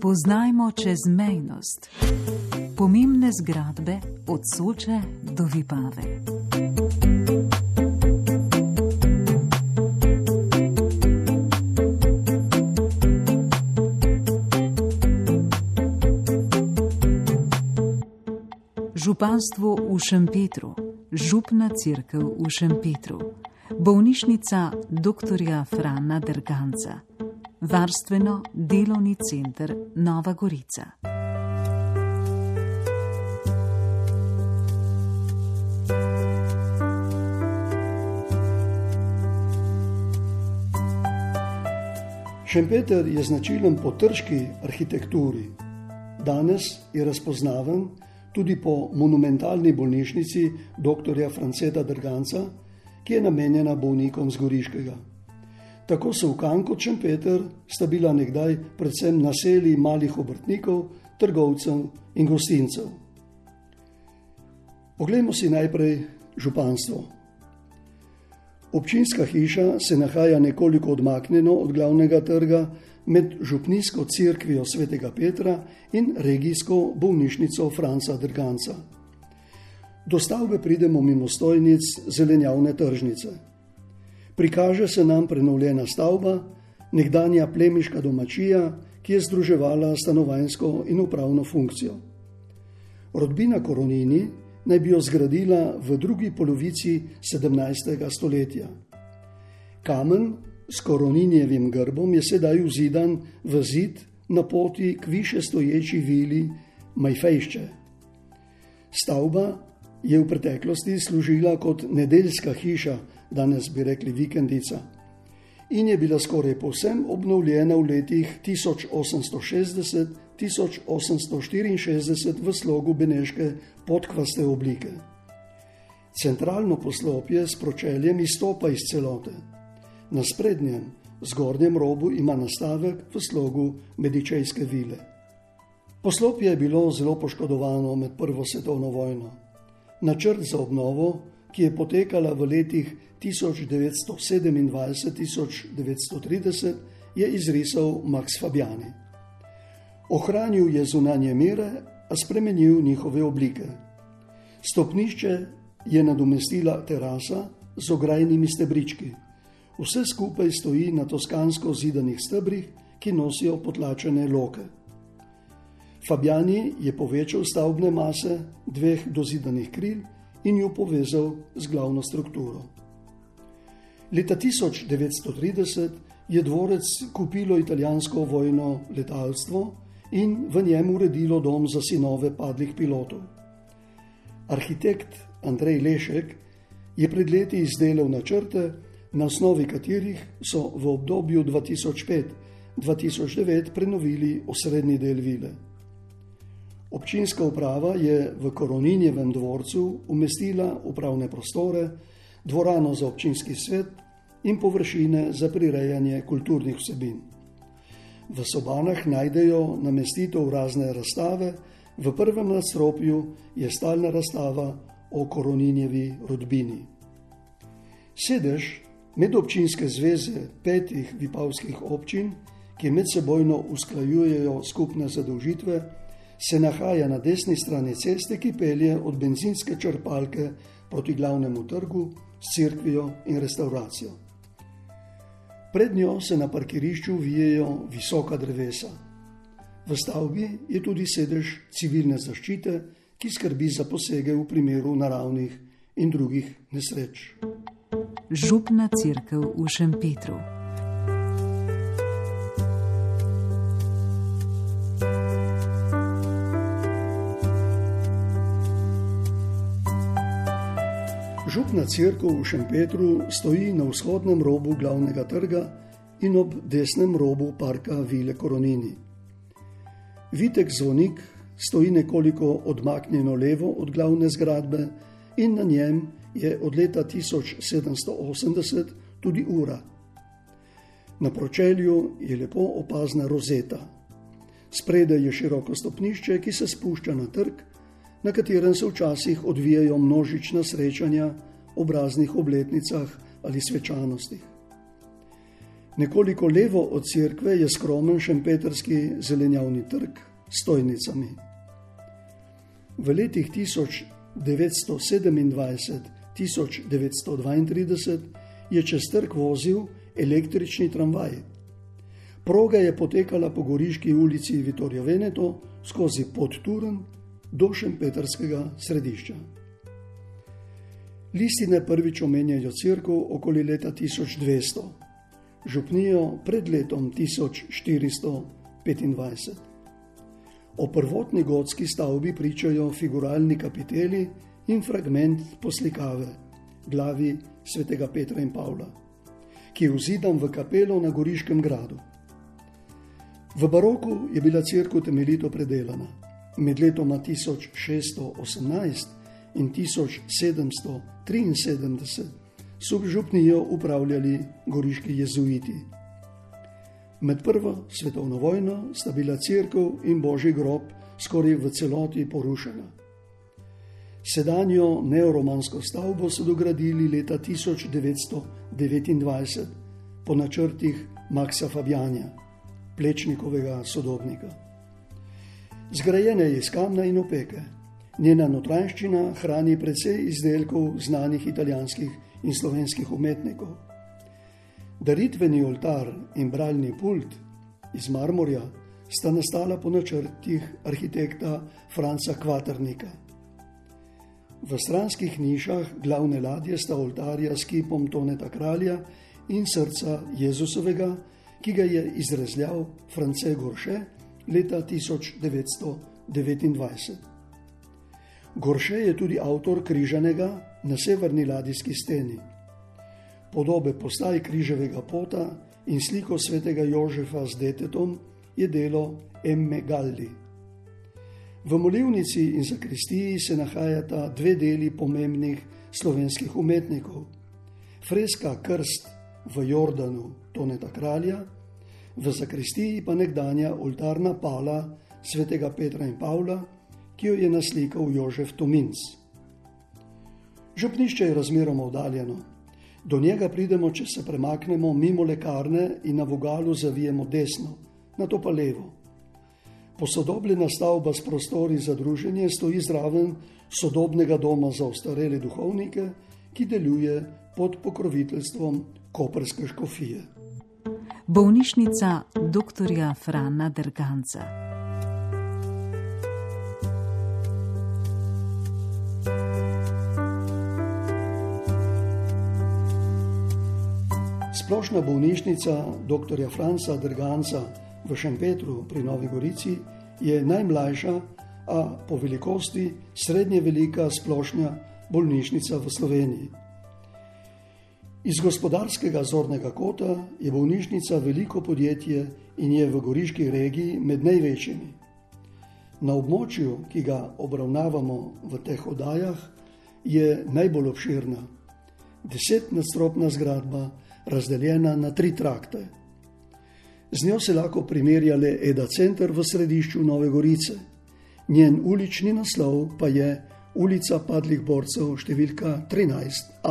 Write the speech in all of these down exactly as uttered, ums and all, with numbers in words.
Spoznajmo čezmejnost. Pomembne zgradbe od Soče do Vipave. Županstvo v Šempetru, župna cerkev v Šempetru, bolnišnica doktorja Frana Derganca, varstveno-delovni center Nova Gorica. Šempeter je značilen po trški arhitekturi. Danes je razpoznaven tudi po monumentalni bolnišnici doktorja Franceta Derganca, ki je namenjena bolnikom z Goriškega. Tako Solkan kot Šempeter sta bila nekdaj predvsem naselji malih obrtnikov, trgovcev in gostincev. Poglejmo si najprej županstvo. Občinska hiša se nahaja nekoliko odmaknjeno od glavnega trga med župnijsko cerkvijo svetega Petra in regijsko bolnišnico Franca Derganca. Do stavbe pridemo mimo stojnic zelenjavne tržnice. Prikaže se nam prenovljena stavba, nekdanja plemiška domačija, ki je združevala stanovanjsko in upravno funkcijo. Rodbina Koronini naj bi jo zgradila v drugi polovici sedemnajstega stoletja. Kamen s Koroninjevim grbom je sedaj vzidan v zid na poti k više stoječi vili Majfejšče. Stavba je v preteklosti služila kot nedeljska hiša, danes bi rekli vikendica, in je bila skoraj povsem obnovljena v letih tisoč osemsto šestdeset do tisoč osemsto štiriinšestdeset v slogu beneške podkvaste oblike. Centralno poslopje s pročeljem izstopa iz celote. Na sprednjem, zgornjem robu ima nastavek v slogu medičejske vile. Poslopje je bilo zelo poškodovano med prvo svetovno vojno. Načrt za obnovo, ki je potekala v letih tisoč devetsto sedemindvajset do tisoč devetsto trideset, je izrisal Max Fabiani. Ohranil je zunanje mere, a spremenil njihove oblike. Stopnišče je nadomestila terasa z ograjnimi stebrički. Vse skupaj stoji na toskansko zidanih stebrih, ki nosijo potlačene loke. Fabiani je povečal stavbne mase dveh dozidanih kril in jo povezal z glavno strukturo. Leta tisoč devetsto trideset je dvorec kupilo italijansko vojno letalstvo in v njem uredilo dom za sinove padlih pilotov. Arhitekt Andrej Lešek je pred leti izdelal načrte, na osnovi katerih so v obdobju dva tisoč pet do dva tisoč devet prenovili osrednji del vile. Občinska uprava je v Koroninjevem dvorcu umestila upravne prostore, dvorano za občinski svet in površine za prirejanje kulturnih vsebin. V sobanah najdejo namestitev razne razstave, v prvem nadstropju je stalna razstava o Koroninjevi rodbini. Sedež Medobčinske zveze petih vipavskih občin, ki medsebojno usklajujejo skupne zadolžitve, se nahaja na desni strani ceste, ki pelje od bencinske črpalke proti glavnemu trgu s cerkvijo in restauracijo. Pred njo se na parkirišču vijejo visoka drevesa. V stavbi je tudi sedež civilne zaščite, ki skrbi za posege v primeru naravnih in drugih nesreč. Župna cerkev v Šempetru. Župna cerkev v Šempetru stoji na vzhodnem robu glavnega trga in ob desnem robu parka Vile Koronini. Vitek zvonik stoji nekoliko odmaknjeno levo od glavne zgradbe in na njem je od leta tisoč sedemsto osemdeset tudi ura. Na pročelju je lepo opazna rozeta. Spredaj je široko stopnišče, ki se spušča na trg, na katerem se včasih odvijajo množična srečanja ob raznih obletnicah ali svečanostih. Nekoliko levo od cerkve je skromen šempetrski zelenjavni trg s stojnicami. V letih tisoč devetsto sedemindvajset do tisoč devetsto dvaintrideset je čez trg vozil električni tramvaj. Proga je potekala po Goriški ulici Vittorio Veneto skozi Podturn do šempetrskega središča. Listine prvič omenjajo cerkev okoli leta tisoč dvesto, župnijo pred letom tisoč štiristo petindvajset. O prvotni gotski stavbi pričajo figuralni kapiteli in fragment poslikave, glavi svetega Petra in Pavla, ki je vzidan v kapelo na Goriškem gradu. V baroku je bila cerkev temeljito predelana. Med letoma tisoč šeststo osemnajst in tisoč sedemsto triinsedemdeset so župnijo upravljali goriški jezuiti. Med prvo svetovno vojno sta bila cerkev in božji grob skoraj v celoti porušena. Sedanjo neoromansko stavbo so dogradili leta tisoč devetsto devetindvajset po načrtih Maxa Fabiana, Plečnikovega sodobnika. Zgrajena je iz kamna in opeke. Njena notranjščina hrani precej izdelkov znanih italijanskih in slovenskih umetnikov. Daritveni oltar in bralni pult iz marmorja sta nastala po načrtih arhitekta Franca Kvaternika. V stranskih nišah glavne ladje sta oltarja s kipom Toneta Kralja in srca Jezusovega, ki ga je izrezljal France Gorše leta tisoč devetsto devetindvajset. Gorše je tudi avtor križanega na severni ladijski steni. Podobe postaj križevega pota in sliko svetega Jožefa z detetom je delo Emme Galli. V molilnici in zakristiji se nahajata dve deli pomembnih slovenskih umetnikov. Freska Krst v Jordanu Toneta Kralja, v zakristiji pa nekdanja oltarna pala svetega Petra in Pavla, ki jo je naslikal Jožef Tominc. Župnišče je razmeroma oddaljeno. Do njega pridemo, če se premaknemo mimo lekarne in na vogalu zavijemo desno, nato pa levo. Posodobljena stavba s prostori za druženje stoji zraven sodobnega doma za ostarele duhovnike, ki deluje pod pokroviteljstvom koprske škofije. Bolnišnica doktorja Frana Derganca. Splošna bolnišnica doktorja Franca Derganca v Šempetru pri Novi Gorici je najmlajša, a po velikosti srednje velika splošna bolnišnica v Sloveniji. Iz gospodarskega zornega kota je bolnišnica veliko podjetje in je v goriški regiji med največjimi. Na območju, ki ga obravnavamo v teh oddajah, je najbolj obširna. Desetnadstropna zgradba, razdeljena na tri trakte. Z njo se lahko primerja le Eda Center v središču Nove Gorice. Njen ulični naslov pa je Ulica padlih borcev številka trinajst A.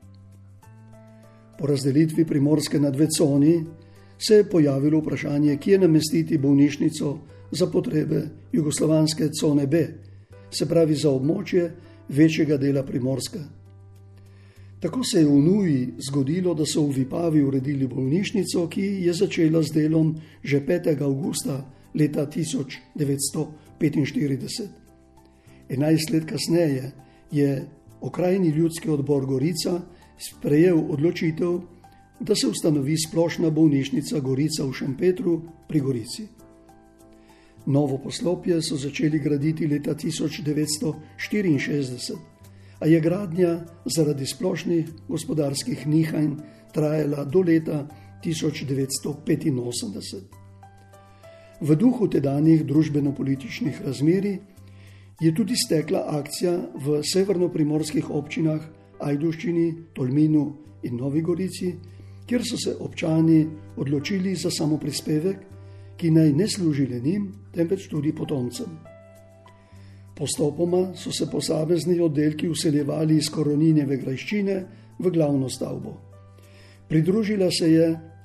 Po razdelitvi Primorske na dve coni se je pojavilo vprašanje, kje namestiti bolnišnico za potrebe jugoslovanske cone B, se pravi za območje večjega dela Primorske. Tako se je v nuji zgodilo, da so v Vipavi uredili bolnišnico, ki je začela z delom že petega avgusta leta tisoč devetsto petinštirideset. Enajst let kasneje je okrajni ljudski odbor Gorica sprejel odločitev, da se ustanovi splošna bolnišnica Gorica v Šempetru pri Gorici. Novo poslopje so začeli graditi leta tisoč devetsto štiriinšestdeset, a je gradnja zaradi splošnih gospodarskih nihanj trajala do leta tisoč devetsto petinosemdeset. V duhu tedanjih družbeno-političnih razmerij je tudi stekla akcija v severnoprimorskih občinah Ajdovščini, Tolminu in Novi Gorici, kjer so se občani odločili za samoprispevek, ki naj ne služi le njim, temveč tudi potomcem. Postopoma so se posamezni oddelki vseljevali iz Koroninjeve grajščine v glavno stavbo. Pridružila se je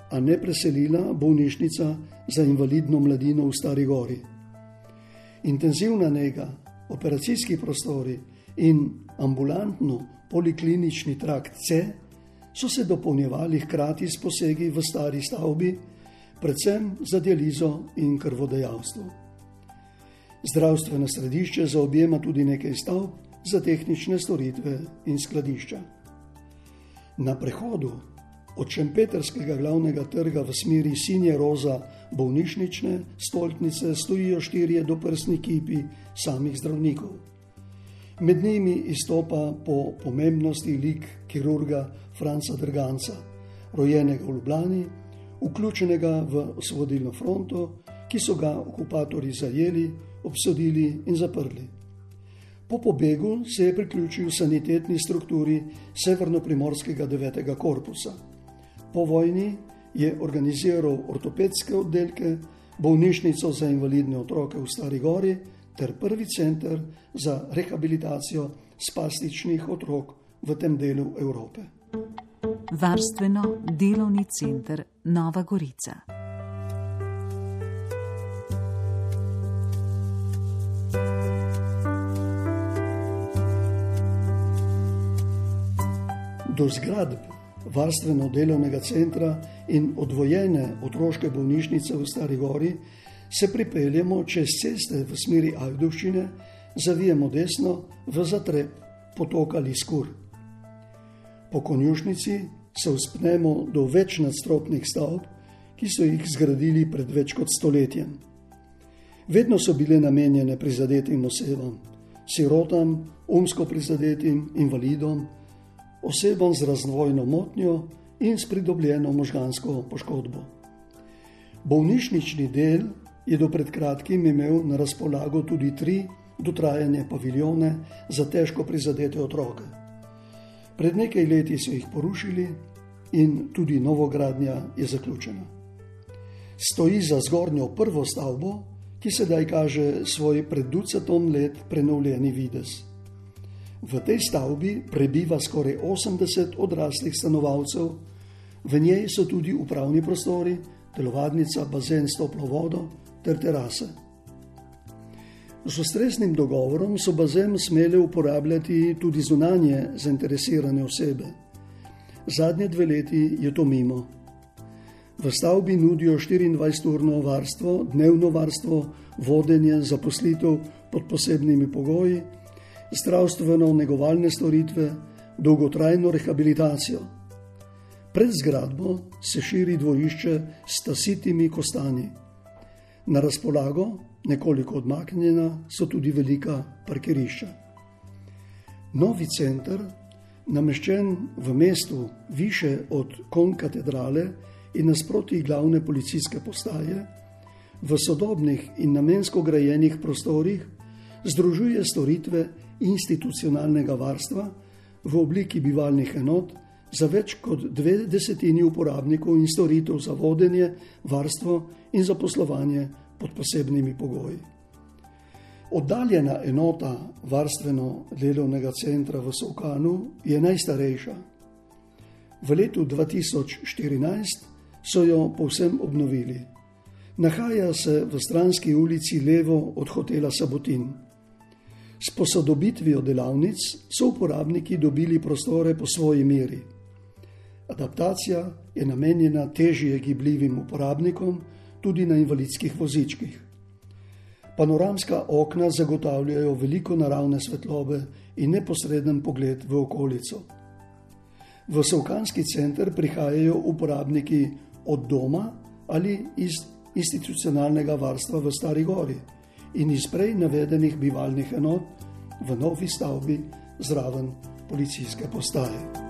a ne preselila bolnišnica za invalidno mladino v Stari Gori. Intenzivna nega, operacijski prostori in ambulantno poliklinični trakt C so se dopolnjevali hkrati s posegi v stari stavbi, predvsem za dializo in krvodajalstvo. Zdravstveno središče zaobjema tudi nekaj stavb za tehnične storitve in skladišča. Na prehodu od Šempetrskega glavnega trga v smeri sinje roza bolnišnične stolpnice stojijo štirje doprsni kipi samih zdravnikov. Med njimi izstopa po pomembnosti lik kirurga Franca Drganca, rojenega v Ljubljani, vključenega v osvobodilno fronto, ki so ga okupatorji zajeli, obsodili in zaprli. Po pobegu se je priključil sanitetni strukturi Severno-Primorskega devetega korpusa. Po vojni je organiziral ortopedske oddelke, bolnišnico za invalidne otroke v Stari Gori ter prvi center za rehabilitacijo spastičnih otrok v tem delu Evrope. Varstveno-delovni center Nova Gorica. Do zgradb varstveno-delovnega centra in odvojene otroške bolnišnice v Stari Gori se pripeljemo čez ceste v smeri Ajdovščine, zavijemo desno v zatreb potoka Liskur. Po konjušnici se vzpnemo do več nadstropnih stavb, ki so jih zgradili pred več kot stoletjem. Vedno so bile namenjene prizadetim osebam, sirotam, umsko prizadetim, invalidom, osebam z razvojno motnjo in s pridobljeno možgansko poškodbo. Bolnišnični del je do pred kratkim imel na razpolago tudi tri dotrajane paviljone za težko prizadete otroke. Pred nekaj leti so jih porušili in tudi novogradnja je zaključena. Stoji za zgornjo prvo stavbo, ki sedaj kaže svoj pred ducatom let prenovljeni videz. V tej stavbi prebiva skoraj osemdeset odraslih stanovalcev, v njej so tudi upravni prostori, telovadnica, bazen s toplo vodo ter terase. Z ustreznim dogovorom so bazen smele uporabljati tudi zunanje zainteresirane osebe. Zadnje dve leti je to mimo. V stavbi nudijo štiriindvajseturno varstvo, dnevno varstvo, vodenje, zaposlitev pod posebnimi pogoji, zdravstveno-negovalne storitve, dolgotrajno rehabilitacijo. Pred zgradbo se širi dvorišče s tasitimi kostanji. Na razpolago, nekoliko odmaknjena, so tudi velika parkirišča. Novi center, nameščen v mestu više od konkatedrale in nasproti glavne policijske postaje, v sodobnih in namensko grajenih prostorih združuje storitve institucionalnega varstva v obliki bivalnih enot za več kot dve desetini uporabnikov in storitev za vodenje, varstvo in zaposlovanje pod posebnimi pogoji. Oddaljena enota varstveno-delovnega centra v Solkanu je najstarejša. V letu dva tisoč štirinajst so jo povsem obnovili. Nahaja se v stranski ulici levo od hotela Sabotin. S posodobitvijo delavnic so uporabniki dobili prostore po svoji meri. Adaptacija je namenjena težje gibljivim uporabnikom, tudi na invalidskih vozičkih. Panoramska okna zagotavljajo veliko naravne svetlobe in neposreden pogled v okolico. V Solkanski center prihajajo uporabniki od doma ali iz institucionalnega varstva v Stari Gori in iz prej navedenih bivalnih enot v novi stavbi zraven policijske postaje.